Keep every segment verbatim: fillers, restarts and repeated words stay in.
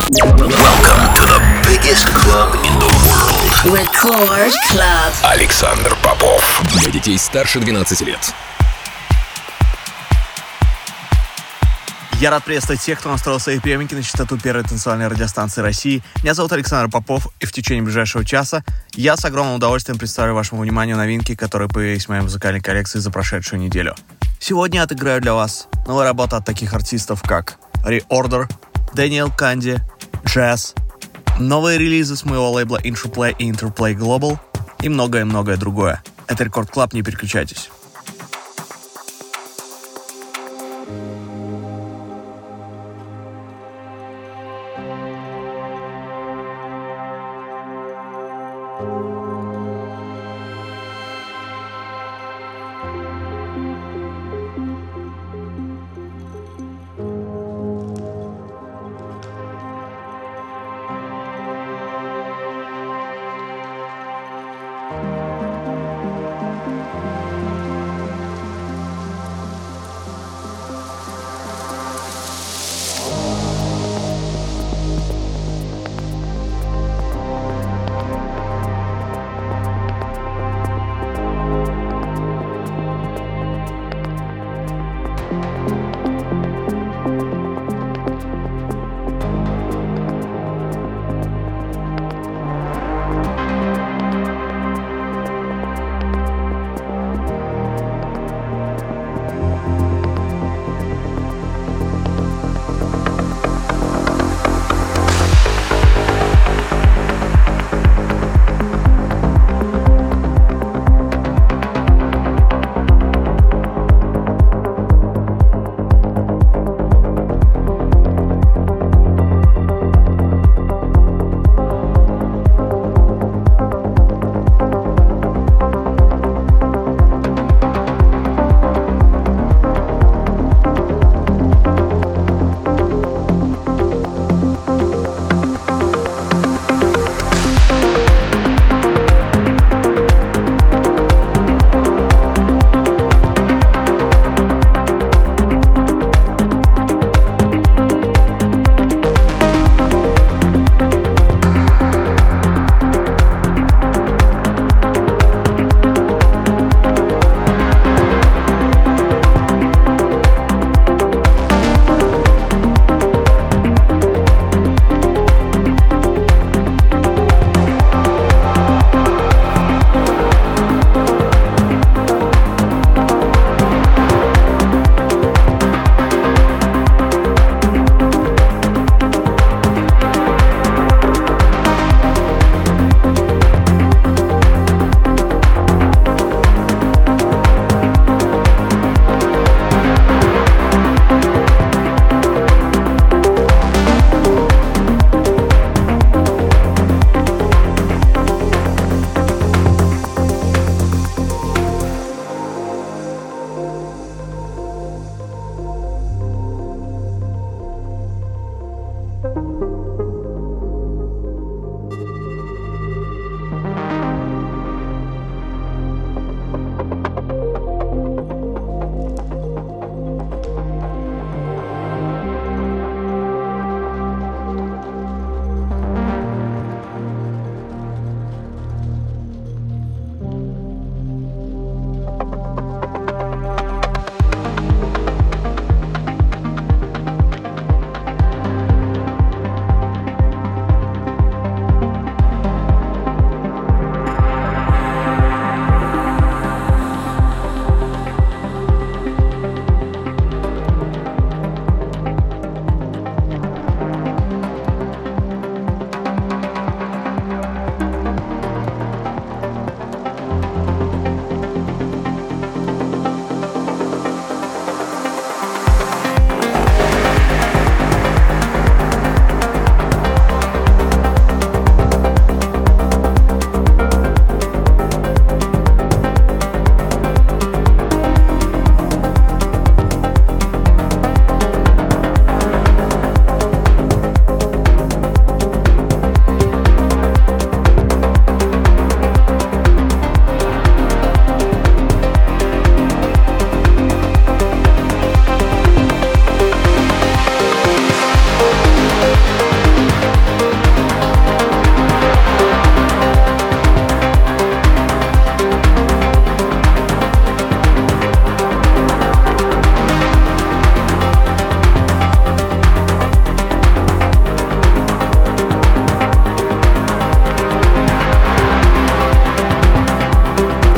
Welcome to the biggest club in the world. Record Club. Александр Попов. Для детей старше двенадцати лет. Я рад приветствовать всех, кто настроил свои приемники на частоту первой танцевальной радиостанции России. Меня зовут Александр Попов, и в течение ближайшего часа я с огромным удовольствием представлю вашему вниманию новинки, которые появились в моей музыкальной коллекции за прошедшую неделю. Сегодня я отыграю для вас новые работы от таких артистов, как Reorder, Дэниел Канди, Jazz, новые релизы с моего лейбла Interplay и Interplay Global и многое-многое другое. Это Record Club, не переключайтесь.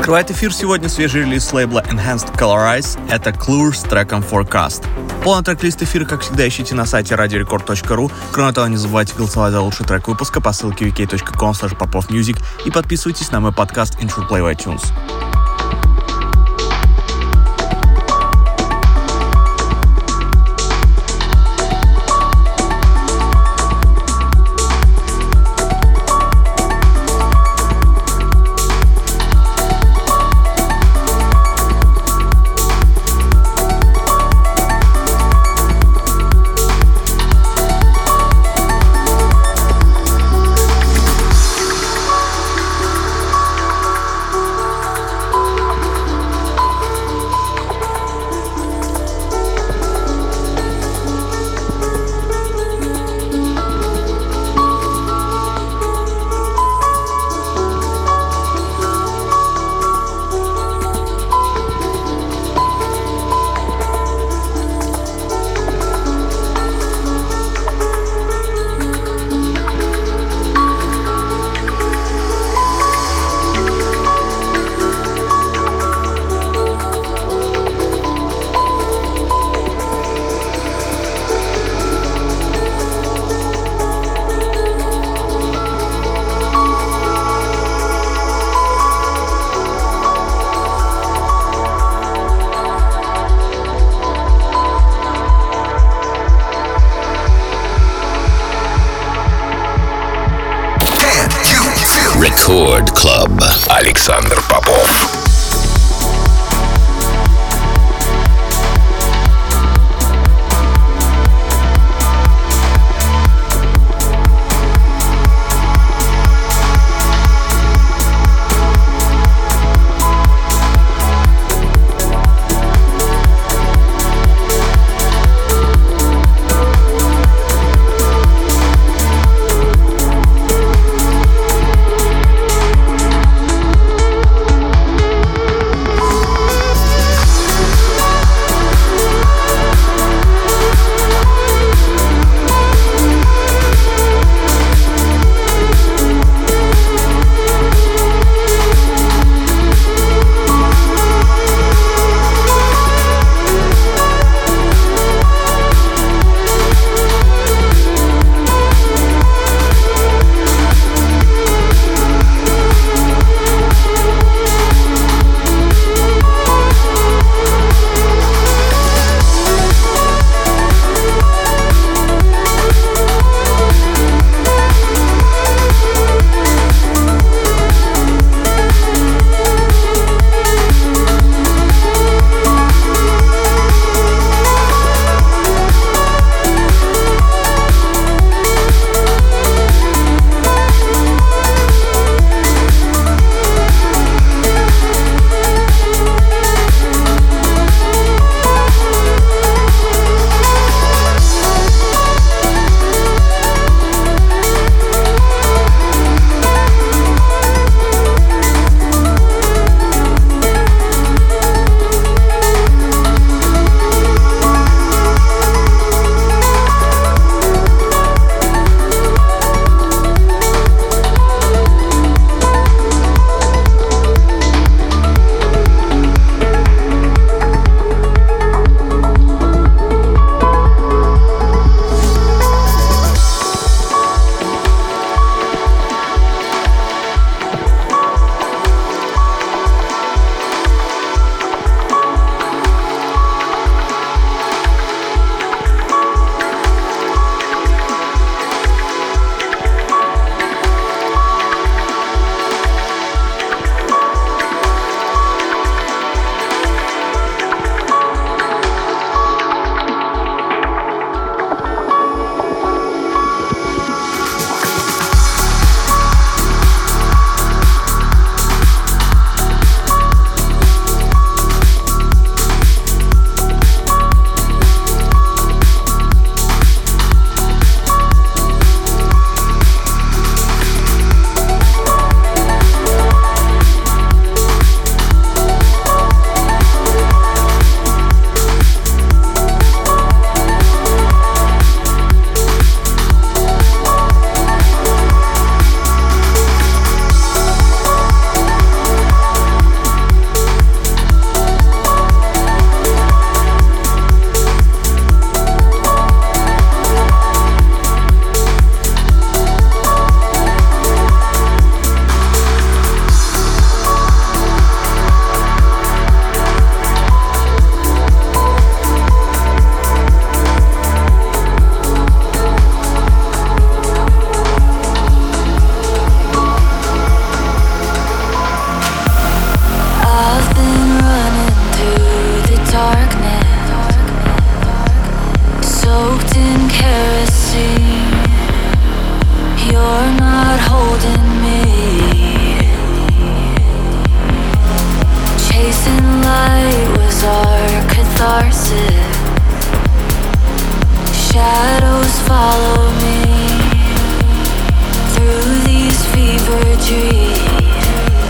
Открывает эфир сегодня свежий релиз с лейбла Enhanced Colorize. Это Clue с треком Forecast. Полный трек-лист эфира, как всегда, ищите на сайте радио рекорд точка ру. Кроме того, не забывайте голосовать за лучший трек выпуска по ссылке ви кей точка ком слэш попов-мьюзик и подписывайтесь на мой подкаст Intro Play в iTunes. Record Club. Александр Попов. catharsis. Shadows follow me through these fever dreams.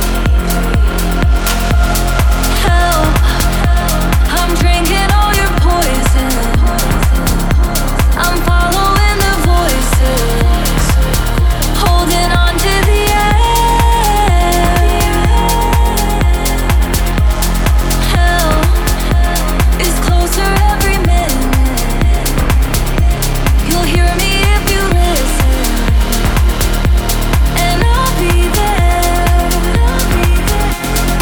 Help, I'm drinking all your poison. I'm following the voices, holding on to the end. Hell is closer every minute. You'll hear me if you listen, and I'll be there. I'll be there.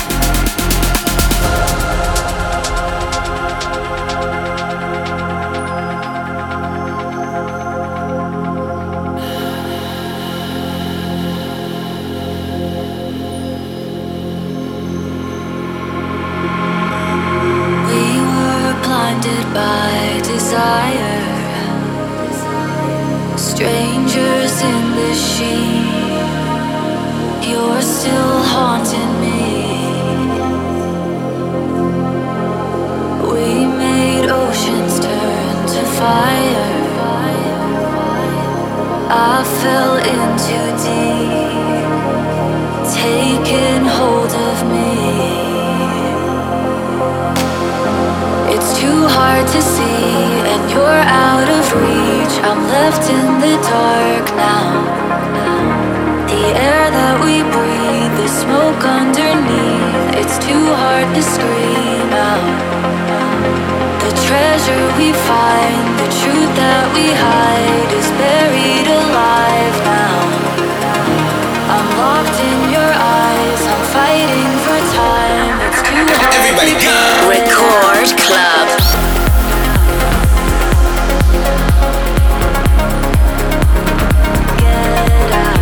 We were blinded by desire, strangers in this sheen. You're still haunting me. We made oceans turn to fire. I fell in too deep, taking hold of me. It's too hard to see, and you're out of reach. I'm left in the dark now. The air that we breathe, the smoke underneath. It's too hard to scream out. The treasure we find, the truth that we hide, is buried alive now. I'm locked in your eyes, I'm fighting for time. It's too hard Everybody to go! Record Club. Get out.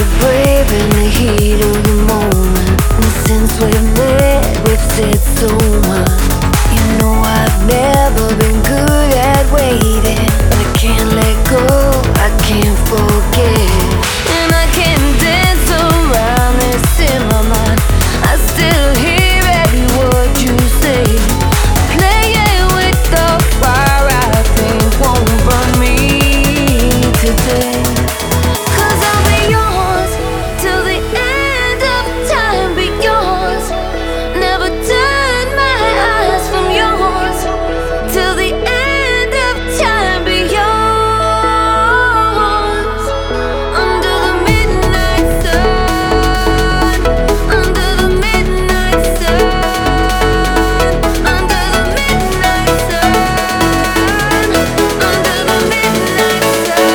we're brave in the heat of the moment. And since we've met, we've said so much. You know I've never been good at waiting, but I can't let go, I can't forget. And I can't dance around this in my mind. I still hear every word you say. Playing with the fire I think won't burn me today. Cause I'll be yours till the end of time. Be yours, never turn my eyes from yours. Till the end of time. Be yours. Under the midnight sun, under the midnight sun, under the midnight sun, under the midnight sun.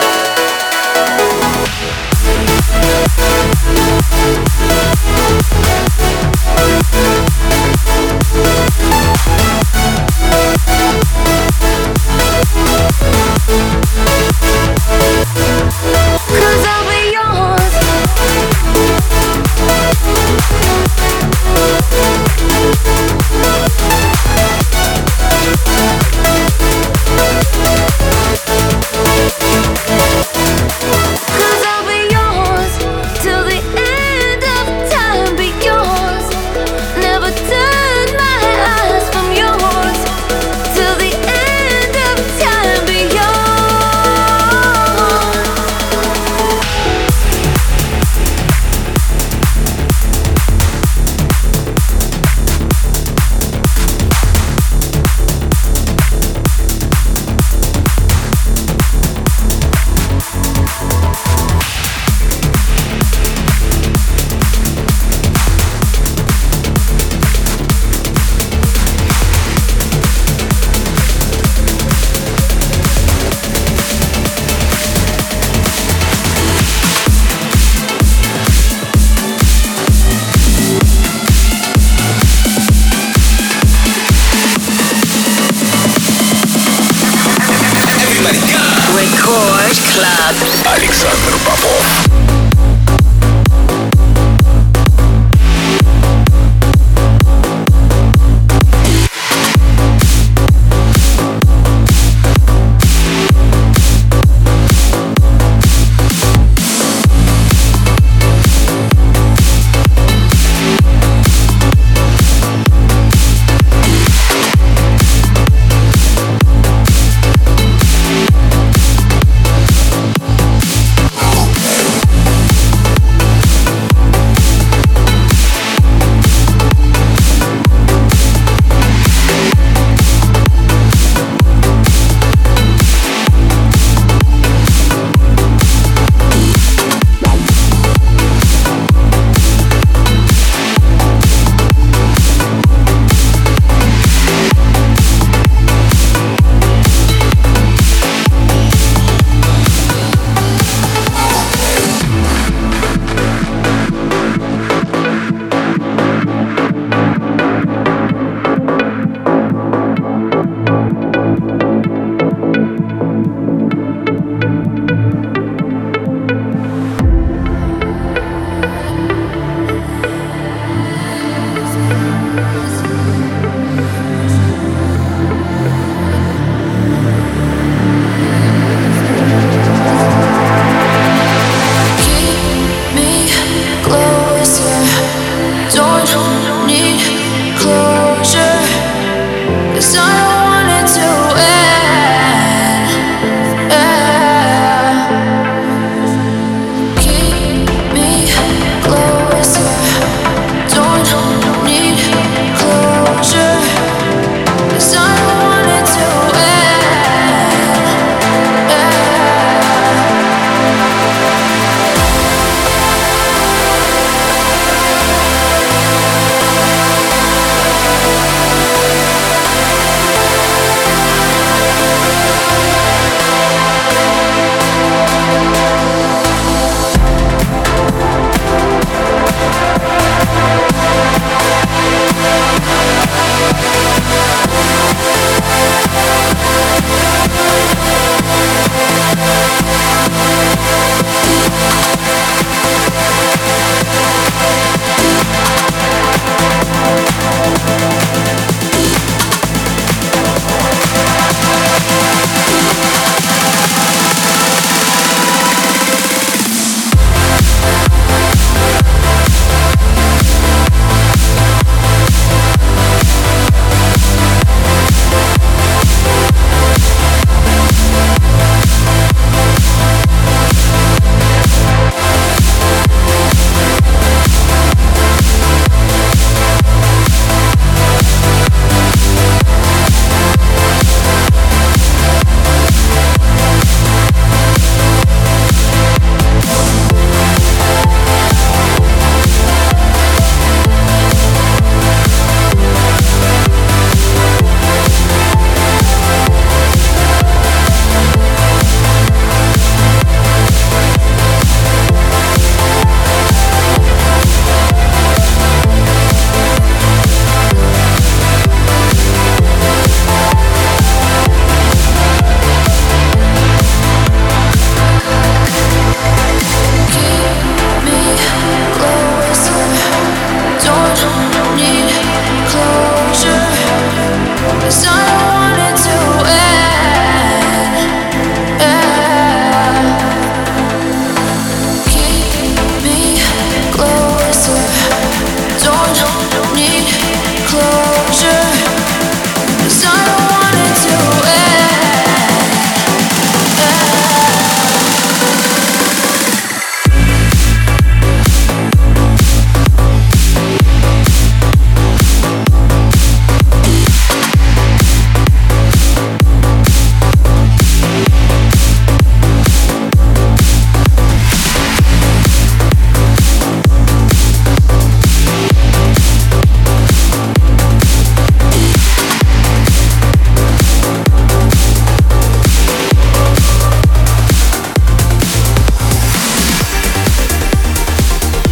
Cause I'll be yours. Cause I'll be yours till the end of time. Be yours, never turn my eyes from yours. Till the end of time. Be yours. Record Club. Александр Попов.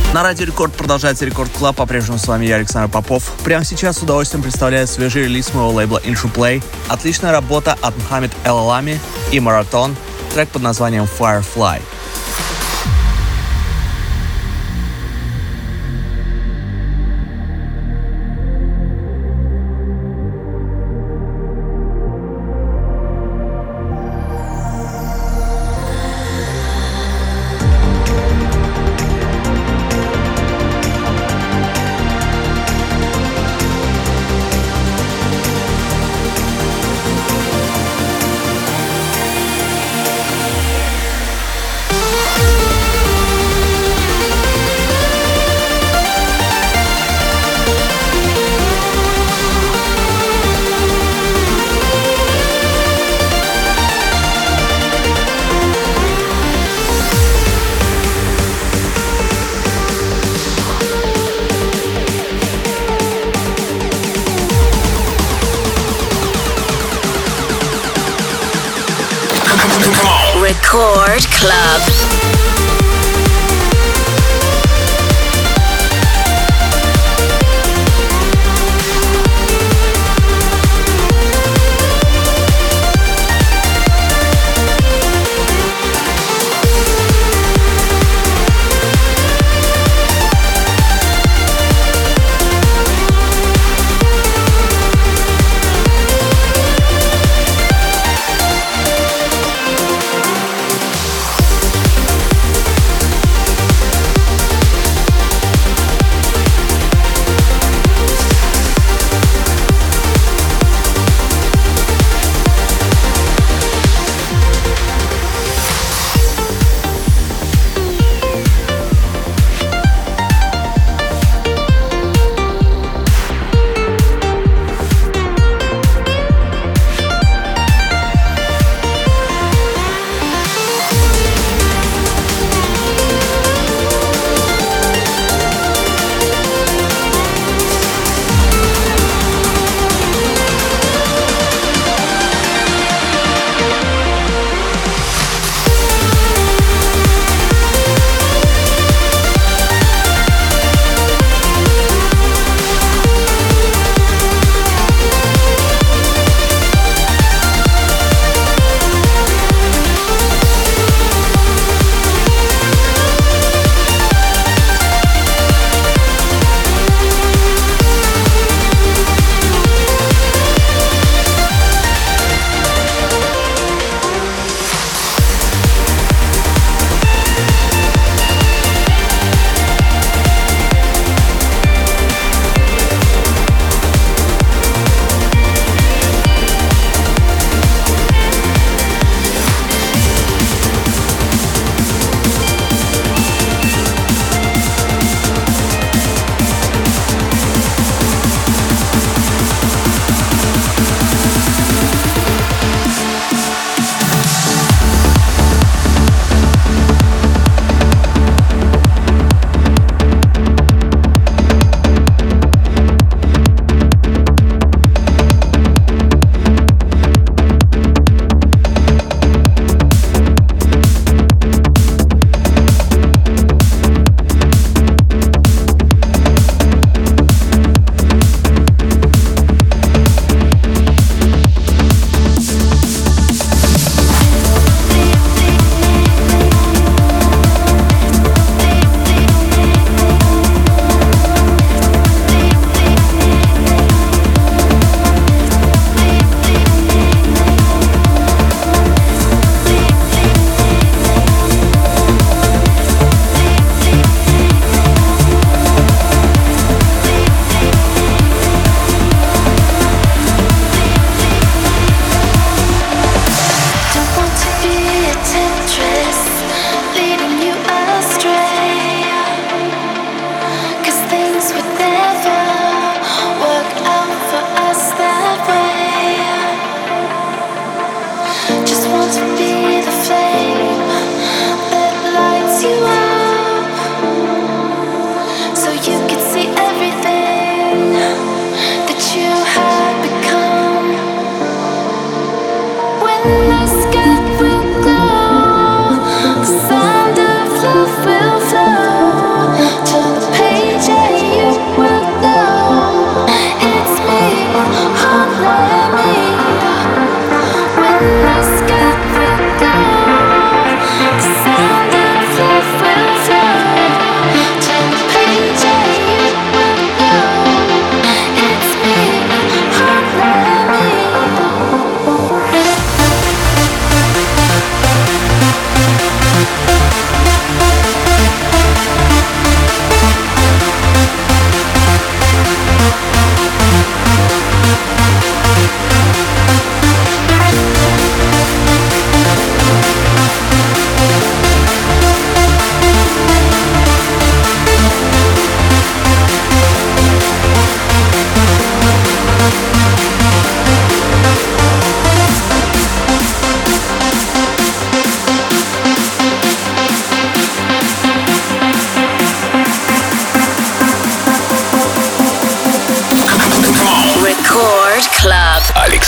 На Радио Рекорд продолжается Рекорд Клаб. По-прежнему с вами я, Александр Попов. Прямо сейчас с удовольствием представляю свежий релиз моего лейбла Intro Play. Отличная работа от Мухаммед Эл-Алами и Маратон. Трек под названием Firefly. Record Club.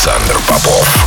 Александр Попов.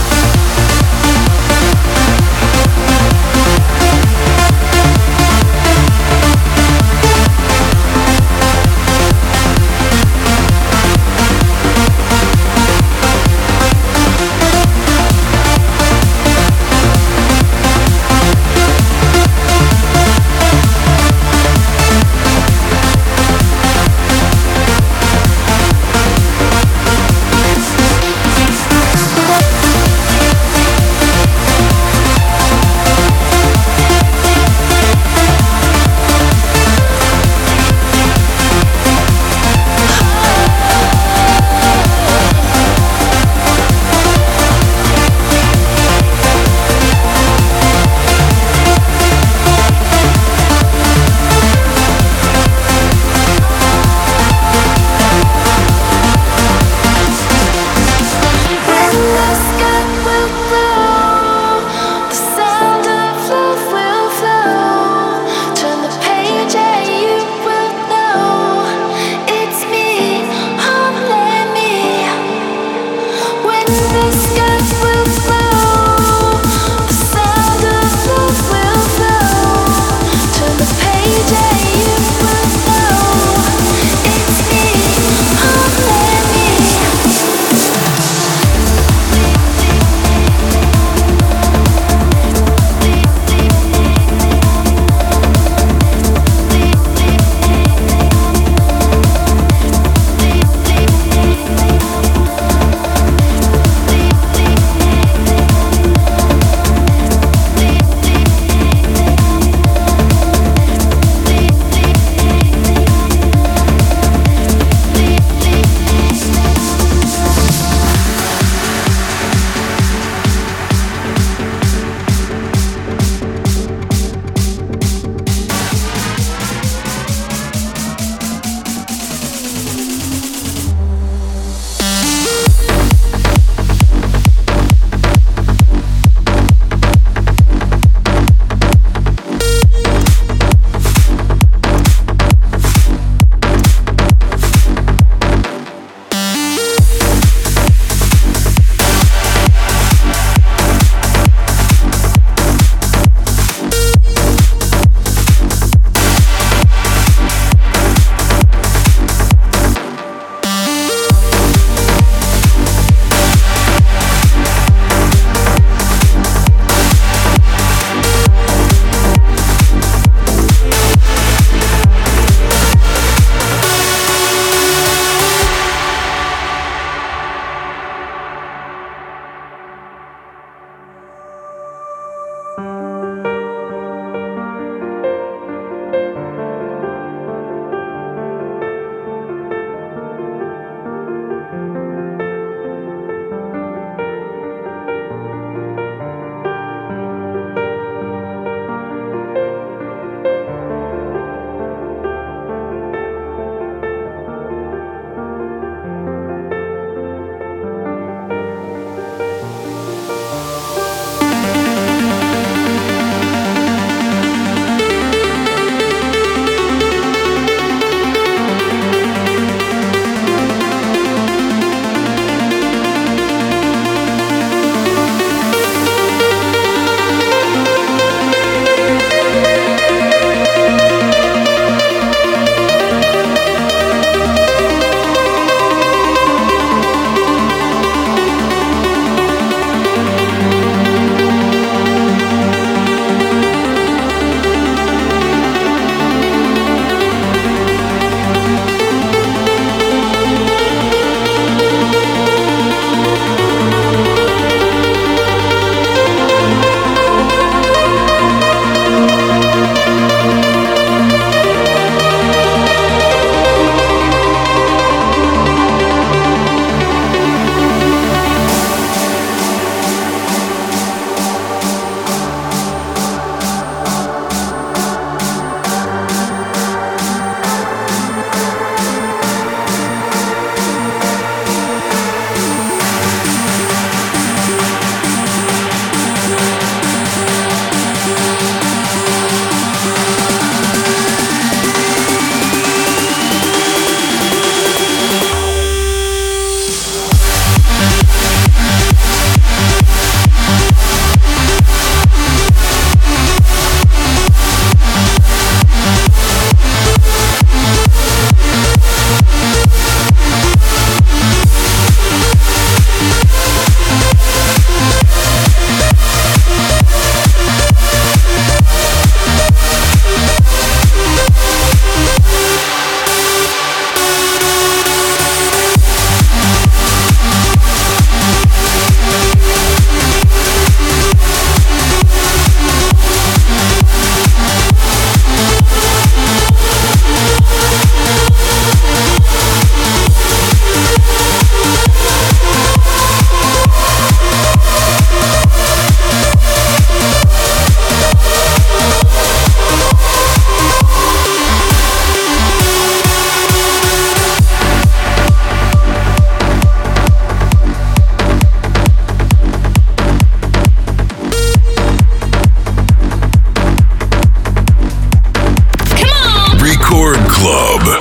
Club.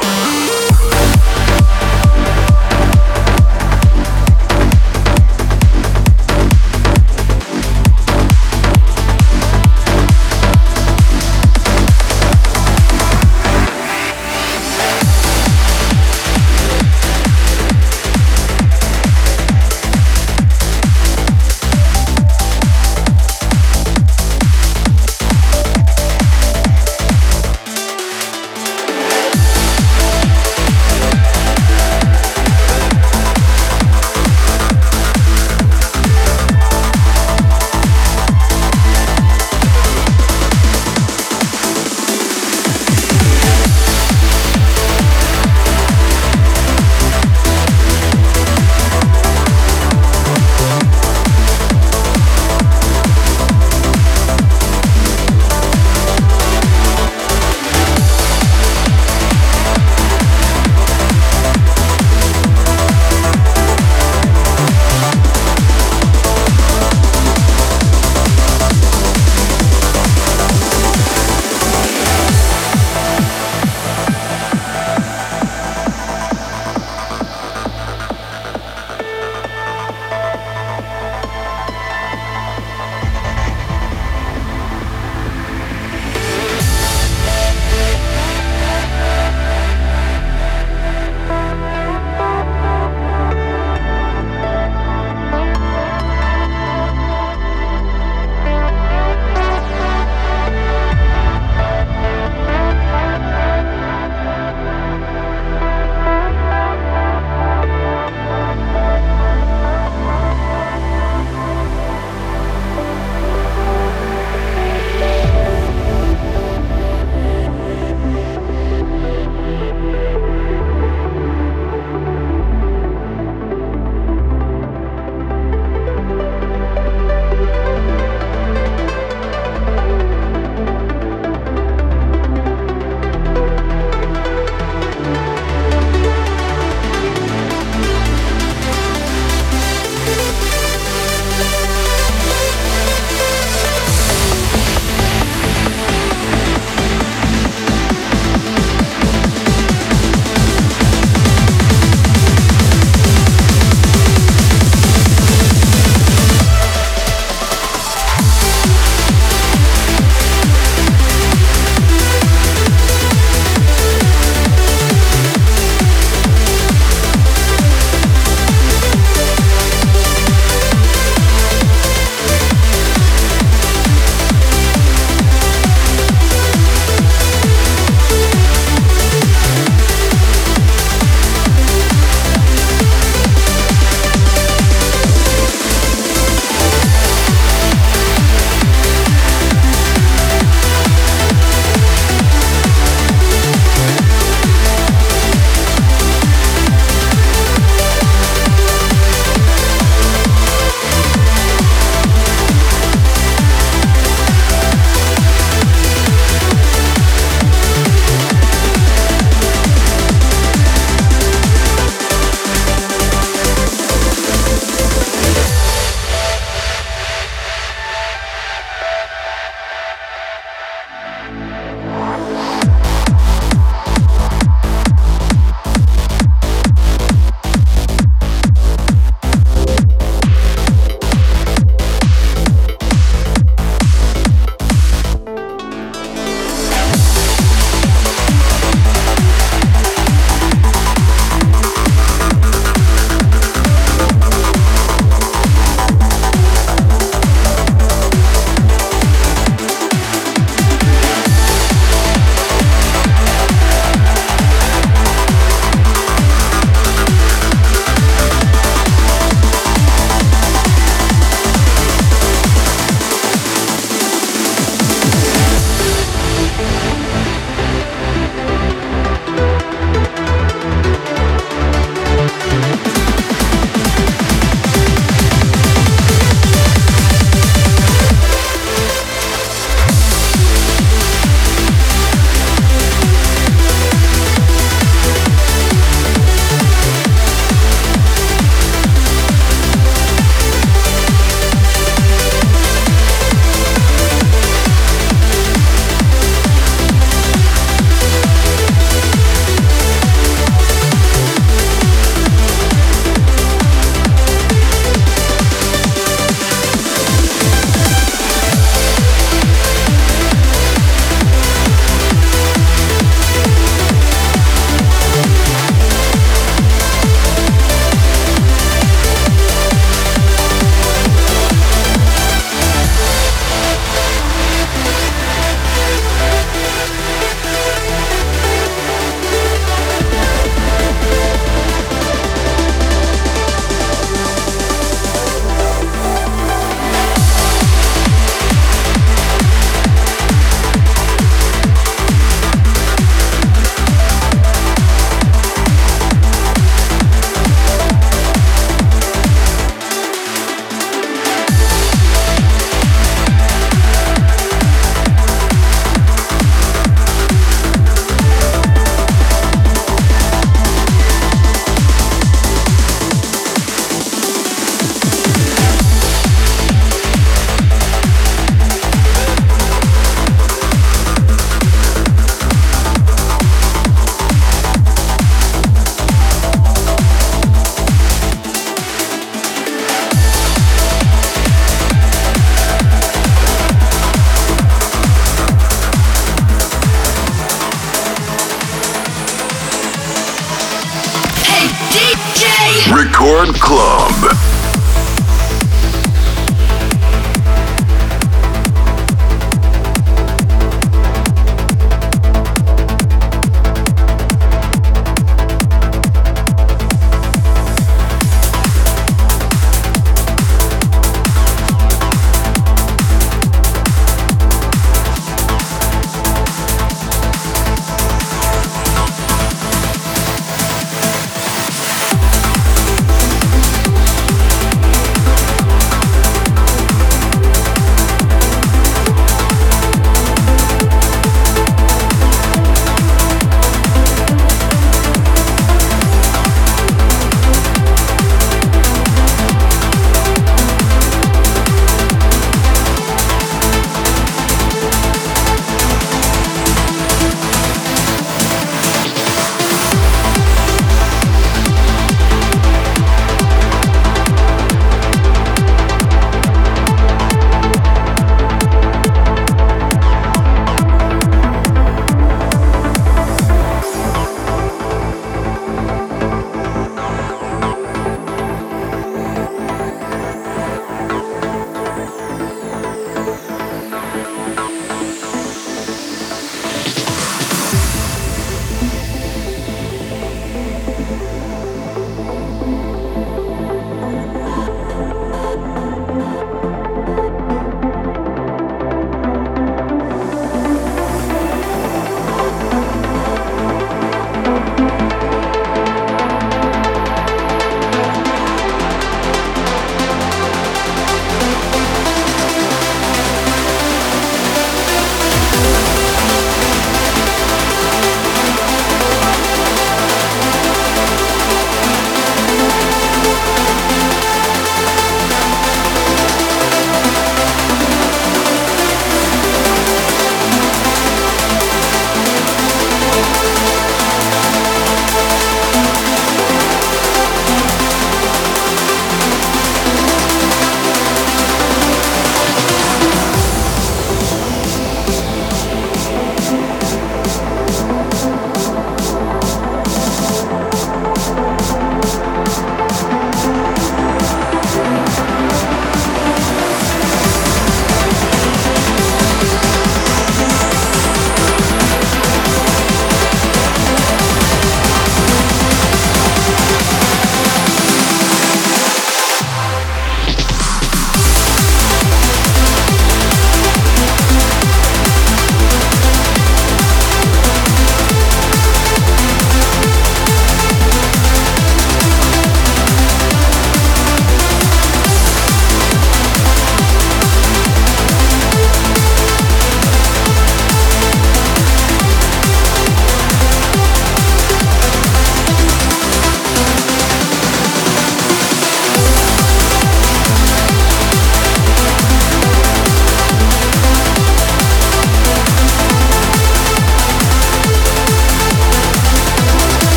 Record Club.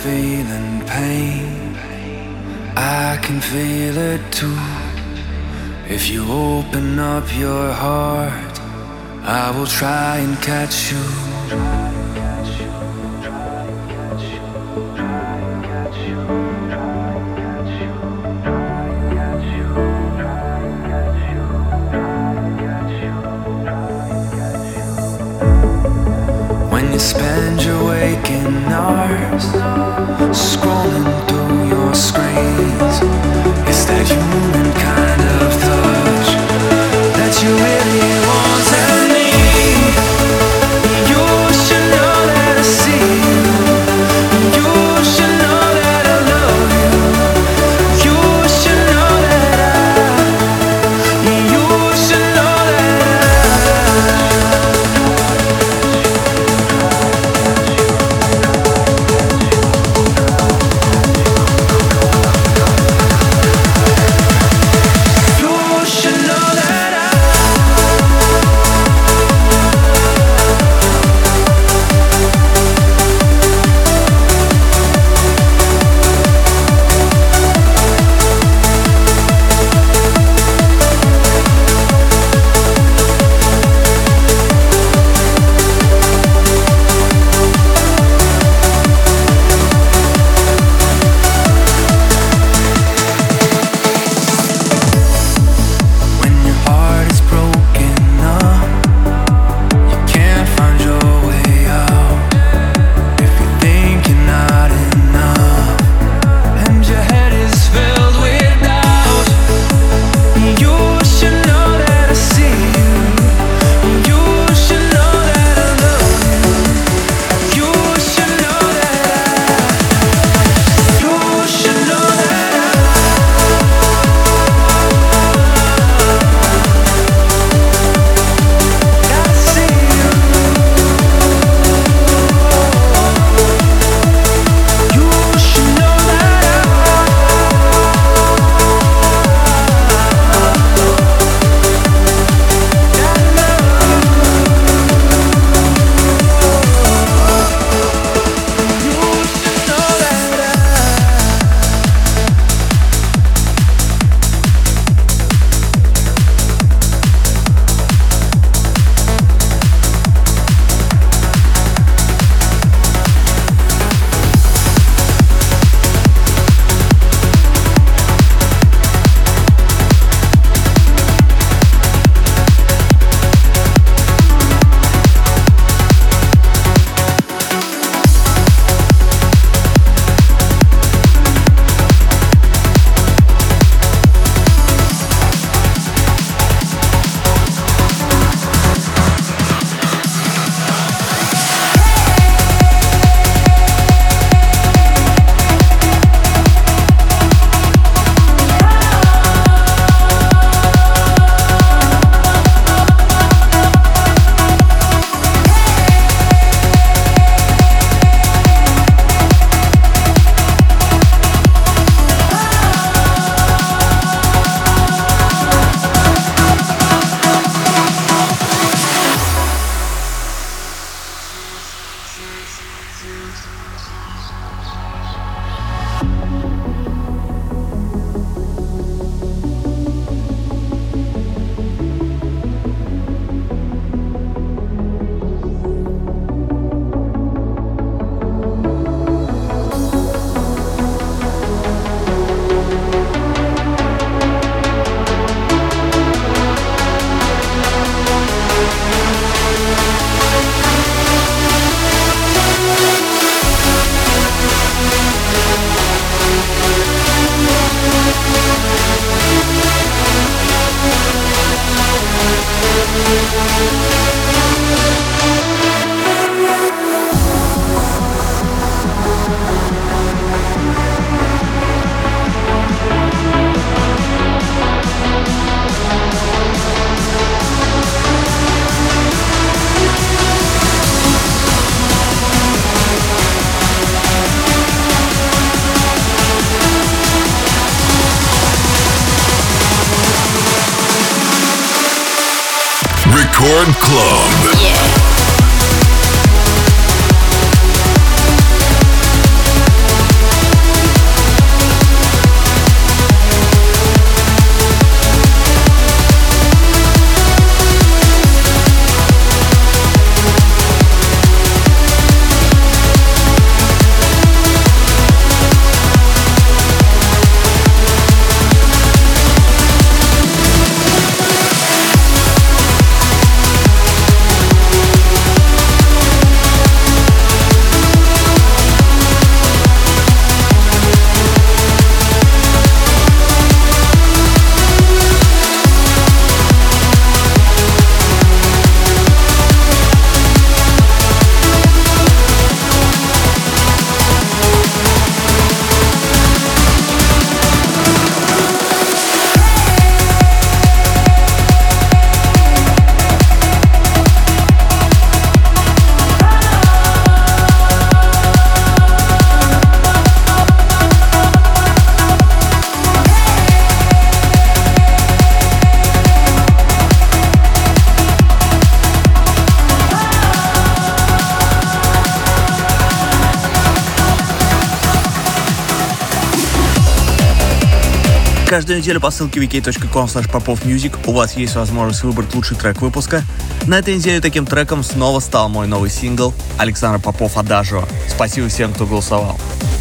feeling pain, I can feel it too. If you open up your heart, I will try and catch you. When you spend your waking hours scrolling through your screens, it's that human kind of touch that you really want and need. You should know that I see you. You should know that I love you. You should know that I. You should know that I. Record Club. Yeah. Каждую неделю по ссылке ви кей точка ком слэш попов мьюзик у вас есть возможность выбрать лучший трек выпуска. На этой неделе таким треком снова стал мой новый сингл Александр Попов «Адажио». Спасибо всем, кто голосовал.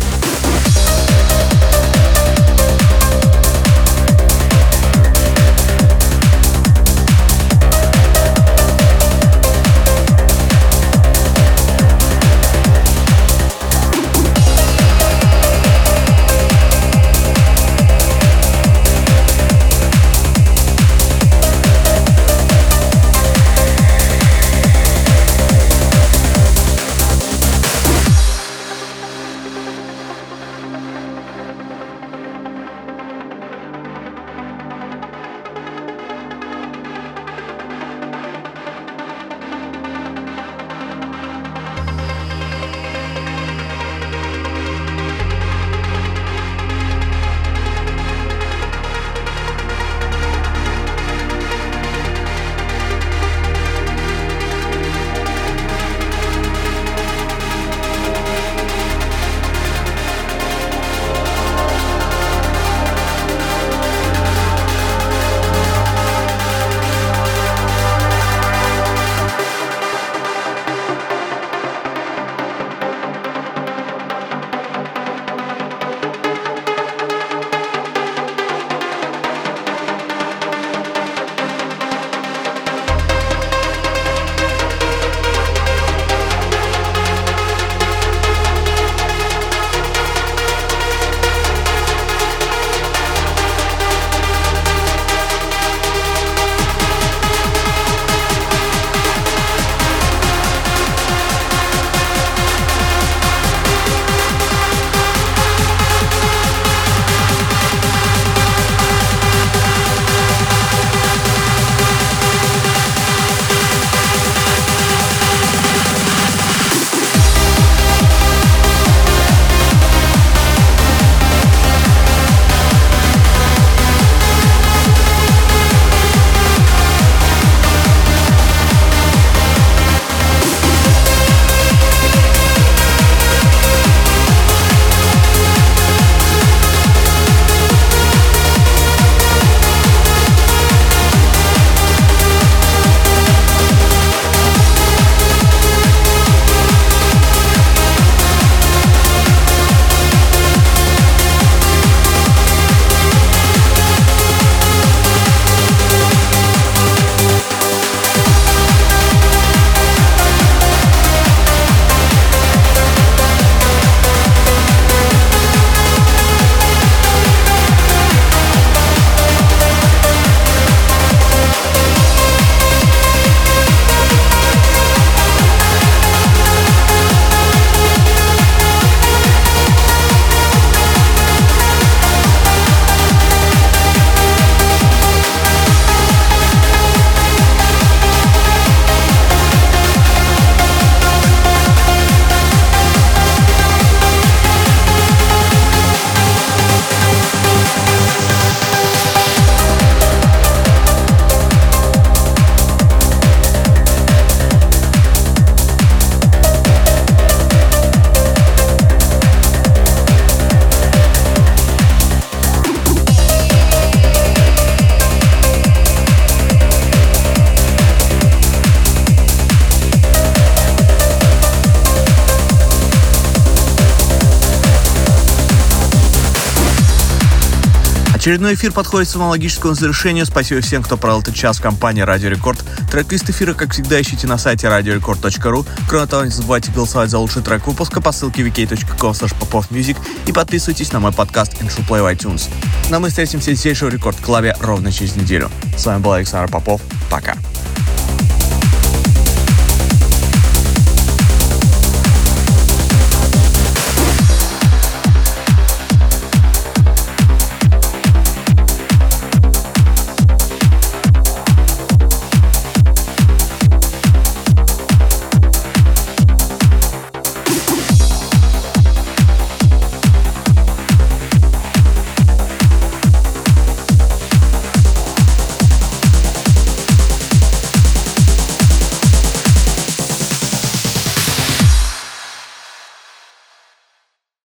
Очередной эфир подходит к своему логическому завершению. Спасибо всем, кто провел этот час в компании Радио Рекорд. Трек-лист эфира, как всегда, ищите на сайте радио рекорд точка ру. Кроме того, не забывайте голосовать за лучший трек выпуска по ссылке ви кей точка ком слэш попов мьюзик и подписывайтесь на мой подкаст Intro Play в iTunes. Но мы встретимся здесь же в Рекорд Клабе ровно через неделю. С вами был Александр Попов. Пока.